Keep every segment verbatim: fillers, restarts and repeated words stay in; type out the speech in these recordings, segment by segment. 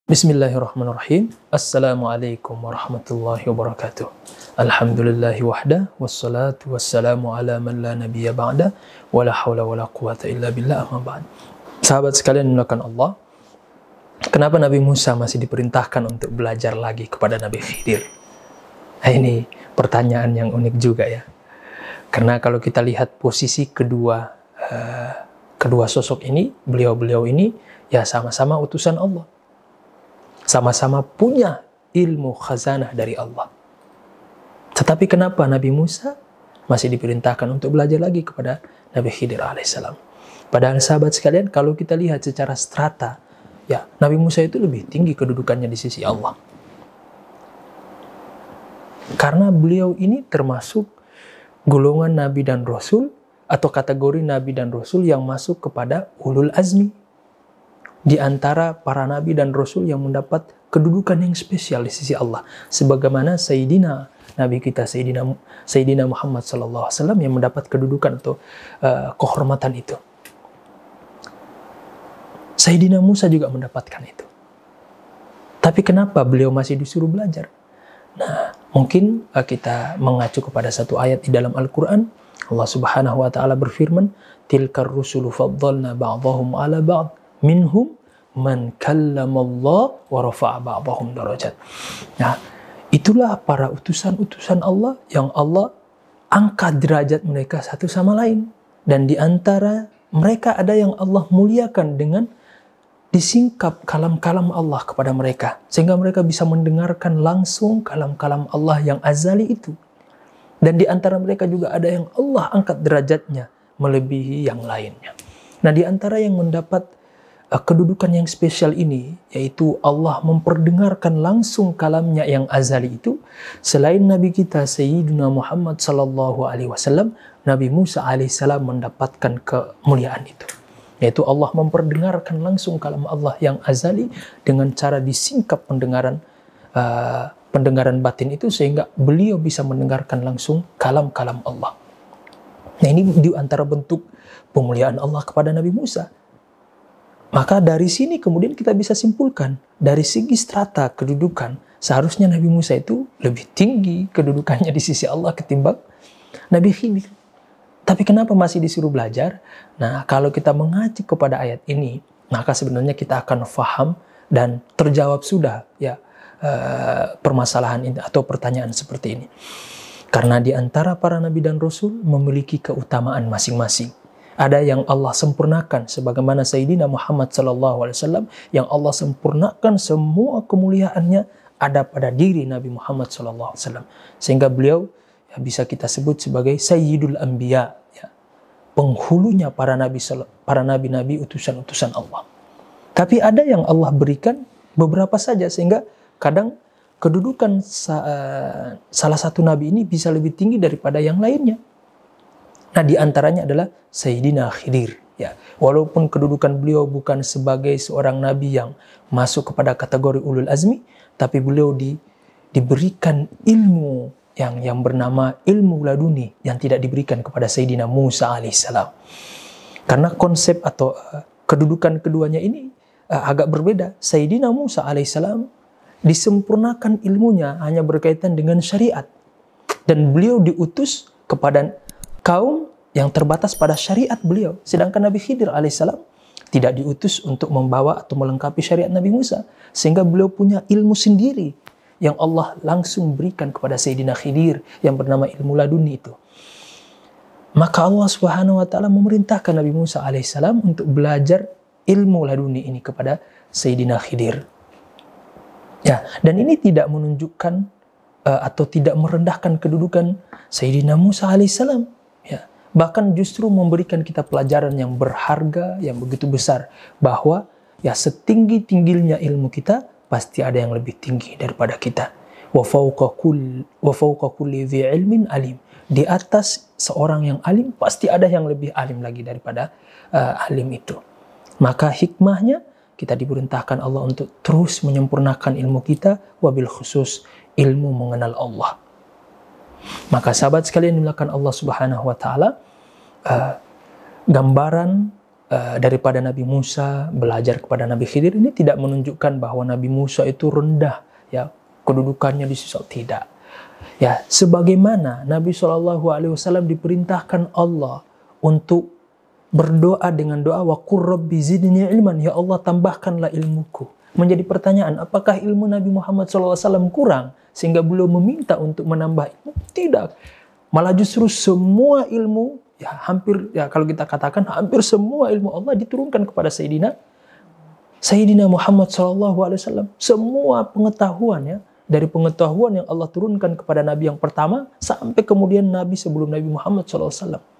Bismillahirrahmanirrahim. Assalamualaikum warahmatullahi wabarakatuh. Alhamdulillahi wahda, wassalatu wassalamu ala man la nabiyya ba'da, wala hawla wala quwata illa billah, amma ba'd. Sahabat sekalian dimuliakan Allah, kenapa Nabi Musa masih diperintahkan untuk belajar lagi kepada Nabi Khidir? Nah, ini pertanyaan yang unik juga ya. Karena kalau kita lihat posisi kedua uh, kedua sosok ini, beliau-beliau ini ya sama-sama utusan Allah. Sama-sama punya ilmu khazanah dari Allah. Tetapi kenapa Nabi Musa masih diperintahkan untuk belajar lagi kepada Nabi Khidir alaihissalam? Padahal sahabat sekalian, kalau kita lihat secara strata, ya Nabi Musa itu lebih tinggi kedudukannya di sisi Allah. Karena beliau ini termasuk golongan Nabi dan Rasul, atau kategori Nabi dan Rasul yang masuk kepada ulul azmi. Di antara para Nabi dan Rasul yang mendapat kedudukan yang spesial di sisi Allah. Sebagaimana Sayyidina Nabi kita, Sayyidina, Sayyidina Muhammad sallallahu alaihi wasallam yang mendapat kedudukan atau uh, kehormatan itu. Sayyidina Musa juga mendapatkan itu. Tapi kenapa beliau masih disuruh belajar? Nah, mungkin uh, kita mengacu kepada satu ayat di dalam Al-Quran. Allah subhanahu wa ta'ala berfirman, Tilkar rusulu faddalna ba'dahum ala ba'd. Minhum man kallamallah wa rafa'a ba'dahum darajat. Nah, itulah para utusan-utusan Allah yang Allah angkat derajat mereka satu sama lain. Dan di antara mereka ada yang Allah muliakan dengan disingkap kalam-kalam Allah kepada mereka. Sehingga mereka bisa mendengarkan langsung kalam-kalam Allah yang azali itu. Dan di antara mereka juga ada yang Allah angkat derajatnya melebihi yang lainnya. Nah, di antara yang mendapat kedudukan yang spesial ini, yaitu Allah memperdengarkan langsung kalamnya yang azali itu, selain Nabi kita Sayyidina Muhammad sallallahu alaihi wasallam, Nabi Musa alaihissalam mendapatkan kemuliaan itu, yaitu Allah memperdengarkan langsung kalam Allah yang azali dengan cara disingkap pendengaran uh, pendengaran batin itu, sehingga beliau bisa mendengarkan langsung kalam-kalam Allah. Nah, ini di antara bentuk pemuliaan Allah kepada Nabi Musa. Maka dari sini kemudian kita bisa simpulkan, dari segi strata kedudukan, seharusnya Nabi Musa itu lebih tinggi kedudukannya di sisi Allah ketimbang Nabi Khidir. Tapi kenapa masih disuruh belajar? Nah, kalau kita mengacu kepada ayat ini, maka sebenarnya kita akan faham dan terjawab sudah ya uh, permasalahan ini atau pertanyaan seperti ini. Karena di antara para Nabi dan Rasul memiliki keutamaan masing-masing. Ada yang Allah sempurnakan, sebagaimana Sayyidina Muhammad sallallahu alaihi wasallam yang Allah sempurnakan semua kemuliaannya ada pada diri Nabi Muhammad sallallahu alaihi wasallam, sehingga beliau ya, bisa kita sebut sebagai Sayyidul Anbiya, ya, penghulunya para nabi para nabi-nabi utusan-utusan Allah. Tapi ada yang Allah berikan beberapa saja, sehingga kadang kedudukan sa uh, salah satu nabi ini bisa lebih tinggi daripada yang lainnya. Nah, di antaranya adalah Sayyidina Khidir. Ya, walaupun kedudukan beliau bukan sebagai seorang nabi yang masuk kepada kategori ulul azmi, tapi beliau di, diberikan ilmu yang yang bernama ilmu laduni yang tidak diberikan kepada Sayyidina Musa alaihissalam. Karena konsep atau uh, kedudukan keduanya ini uh, agak berbeda. Sayyidina Musa alaihissalam disempurnakan ilmunya hanya berkaitan dengan syariat, dan beliau diutus kepada kaum yang terbatas pada syariat beliau. Sedangkan Nabi Khidir alaihissalam tidak diutus untuk membawa atau melengkapi syariat Nabi Musa. Sehingga beliau punya ilmu sendiri yang Allah langsung berikan kepada Sayyidina Khidir yang bernama ilmu laduni itu. Maka Allah subhanahu wa ta'ala memerintahkan Nabi Musa alaihissalam untuk belajar ilmu laduni ini kepada Sayyidina Khidir. Ya, dan ini tidak menunjukkan uh, atau tidak merendahkan kedudukan Sayyidina Musa alaihissalam. Ya, bahkan justru memberikan kita pelajaran yang berharga, yang begitu besar, bahwa ya setinggi-tingginya ilmu kita pasti ada yang lebih tinggi daripada kita. Wa fawqa kulli wa fawqa kulli dzi ilmin alim. Di atas seorang yang alim pasti ada yang lebih alim lagi daripada uh, alim itu. Maka hikmahnya kita diperintahkan Allah untuk terus menyempurnakan ilmu kita, wabil khusus ilmu mengenal Allah. Maka sahabat sekalian dimuliakan Allah subhanahu wa ta'ala, uh, gambaran uh, daripada Nabi Musa belajar kepada Nabi Khidir, ini tidak menunjukkan bahwa Nabi Musa itu rendah, ya, kedudukannya di sisi tidak. Ya, sebagaimana Nabi shallallahu alaihi wasallam diperintahkan Allah untuk berdoa dengan doa wa qur rabbi zidni ilman, ya Allah tambahkanlah ilmuku. Menjadi pertanyaan, apakah ilmu Nabi Muhammad shallallahu alaihi wasallam kurang sehingga beliau meminta untuk menambah ilmu? Tidak. Malah justru semua ilmu, ya hampir, ya kalau kita katakan hampir semua ilmu Allah diturunkan kepada Sayyidina Sayyidina Muhammad shallallahu alaihi wasallam. Semua pengetahuan, ya, dari pengetahuan yang Allah turunkan kepada Nabi yang pertama sampai kemudian Nabi sebelum Nabi Muhammad shallallahu alaihi wasallam.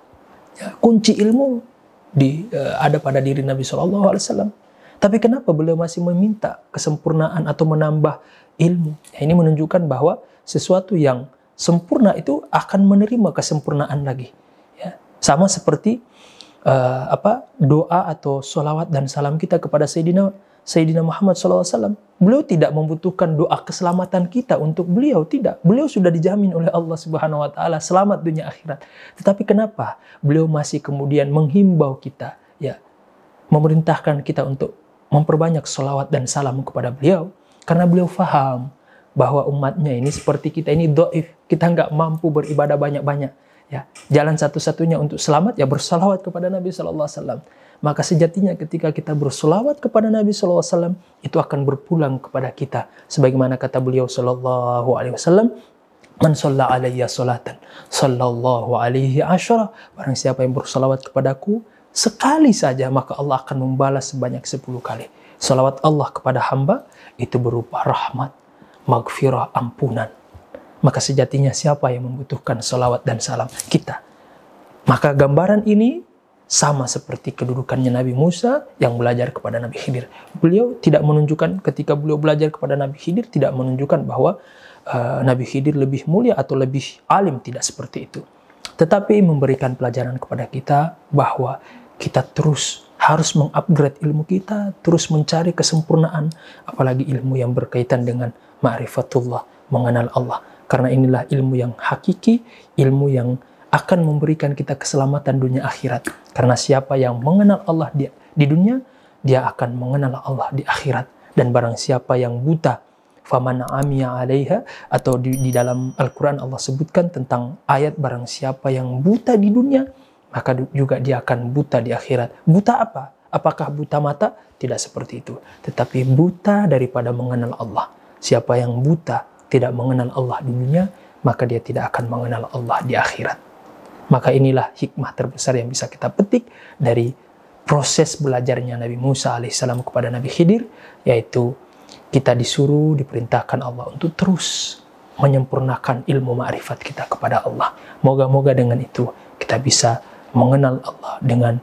Ya, kunci ilmu di, uh, ada pada diri Nabi shallallahu alaihi wasallam. Tapi kenapa beliau masih meminta kesempurnaan atau menambah ilmu? Ya, ini menunjukkan bahwa sesuatu yang sempurna itu akan menerima kesempurnaan lagi. Ya, sama seperti uh, apa doa atau sholawat dan salam kita kepada Sayyidina Sayyidina Muhammad shallallahu alaihi wasallam. Beliau tidak membutuhkan doa keselamatan kita untuk beliau, tidak. Beliau sudah dijamin oleh Allah Subhanahu wa taala selamat dunia akhirat. Tetapi kenapa beliau masih kemudian menghimbau kita, ya, memerintahkan kita untuk memperbanyak sholawat dan salam kepada beliau? Karena beliau faham bahwa umatnya ini seperti kita ini dhaif, kita nggak mampu beribadah banyak-banyak. Ya, jalan satu-satunya untuk selamat ya bersalawat kepada Nabi Sallallahu Alaihi Wasallam. Maka sejatinya ketika kita bersolawat kepada Nabi Sallallahu Alaihi Wasallam, itu akan berpulang kepada kita. Sebagaimana kata beliau Sallallahu Alaihi Wasallam, man shalla alayya salatan, sallallahu alaihi asyara. Barang siapa yang bersolawat kepadaku sekali saja, maka Allah akan membalas sebanyak sepuluh kali. Salawat Allah kepada hamba itu berupa rahmat, maghfirah, ampunan. Maka sejatinya siapa yang membutuhkan salawat dan salam? Kita. Maka gambaran ini sama seperti kedudukannya Nabi Musa yang belajar kepada Nabi Khidir. Beliau tidak menunjukkan, ketika beliau belajar kepada Nabi Khidir, tidak menunjukkan bahwa uh, Nabi Khidir lebih mulia atau lebih alim, tidak seperti itu. Tetapi memberikan pelajaran kepada kita bahwa kita terus harus mengupgrade ilmu kita, terus mencari kesempurnaan, apalagi ilmu yang berkaitan dengan ma'rifatullah, mengenal Allah. Karena inilah ilmu yang hakiki, ilmu yang akan memberikan kita keselamatan dunia akhirat. Karena siapa yang mengenal Allah di, di dunia, dia akan mengenal Allah di akhirat. Dan barang siapa yang buta, faman amiya alaiha, atau di, di dalam Al-Quran Allah sebutkan tentang ayat barang siapa yang buta di dunia, maka juga dia akan buta di akhirat. Buta apa? Apakah buta mata? Tidak seperti itu. Tetapi buta daripada mengenal Allah. Siapa yang buta tidak mengenal Allah di dunia, maka dia tidak akan mengenal Allah di akhirat. Maka inilah hikmah terbesar yang bisa kita petik dari proses belajarnya Nabi Musa alaihissalam kepada Nabi Khidir, yaitu kita disuruh, diperintahkan Allah untuk terus menyempurnakan ilmu ma'rifat kita kepada Allah. Moga-moga dengan itu kita bisa mengenal Allah dengan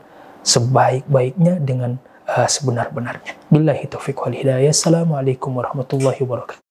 sebaik-baiknya, dengan uh, sebenar-benarnya. Billahi taufiq wal hidayah. Assalamualaikum warahmatullahi wabarakatuh.